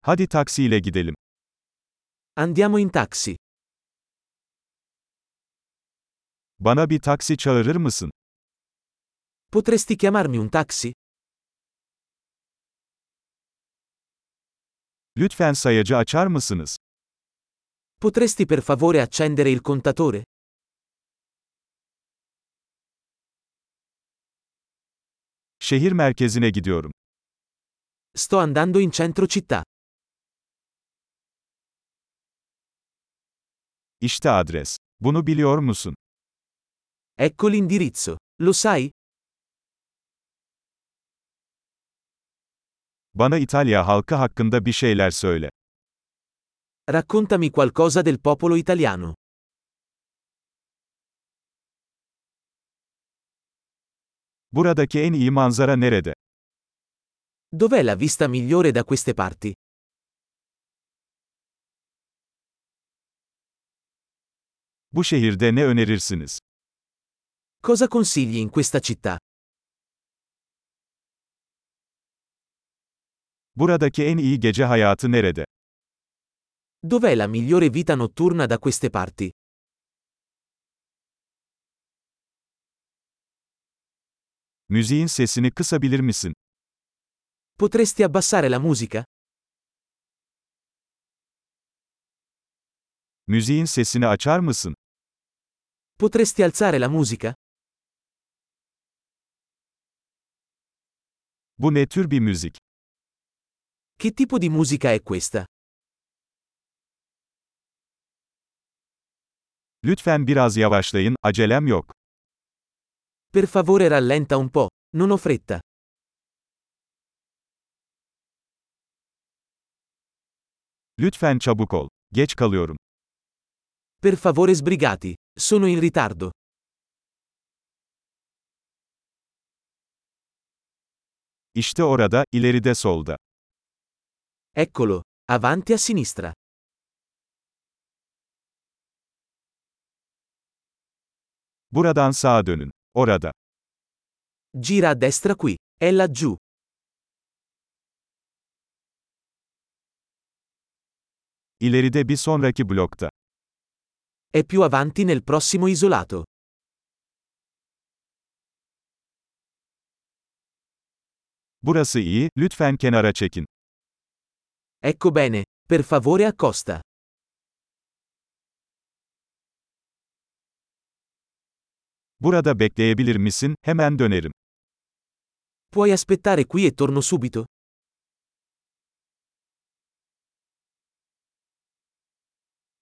Hadi taksiyle gidelim. Andiamo in taxi. Bana bir taksi çağırır mısın? Potresti chiamarmi un taxi? Lütfen sayacı açar mısınız? Potresti per favore accendere il contatore? Şehir merkezine gidiyorum. Sto andando in centro città. İşte adres. Bunu biliyor musun? Ecco l'indirizzo. Lo sai? Bana İtalya halkı hakkında bir şeyler söyle. Raccontami qualcosa del popolo italiano. Buradaki en iyi manzara nerede? Dov'è la vista migliore da queste parti? Bu şehirde ne önerirsiniz? Cosa consigli in questa città? Buradaki en iyi gece hayatı nerede? Dov'è la migliore vita notturna da queste parti? Müziğin sesini kısabilir misin? Potresti abbassare la musica? Müziğin sesini açar mısın? Potresti alzare la musica? Bu ne tür bir müzik? Che tipo di musica è questa? Lütfen biraz yavaşlayın, acelem yok. Per favore rallenta un po', non ho fretta. Lütfen çabuk ol. Geç kalıyorum. Per favore sbrigati, sono in ritardo. İşte orada, ileride solda. Eccolo, avanti a sinistra. Buradan sağa dönün. Orada. Gira a destra qui, è laggiù. İleride bir sonraki blokta. È più avanti nel prossimo isolato. Burası iyi, lütfen kenara çekin. Ecco bene, per favore accosta. Burada bekleyebilir misin? Hemen dönerim. Puoi aspettare qui e torno subito?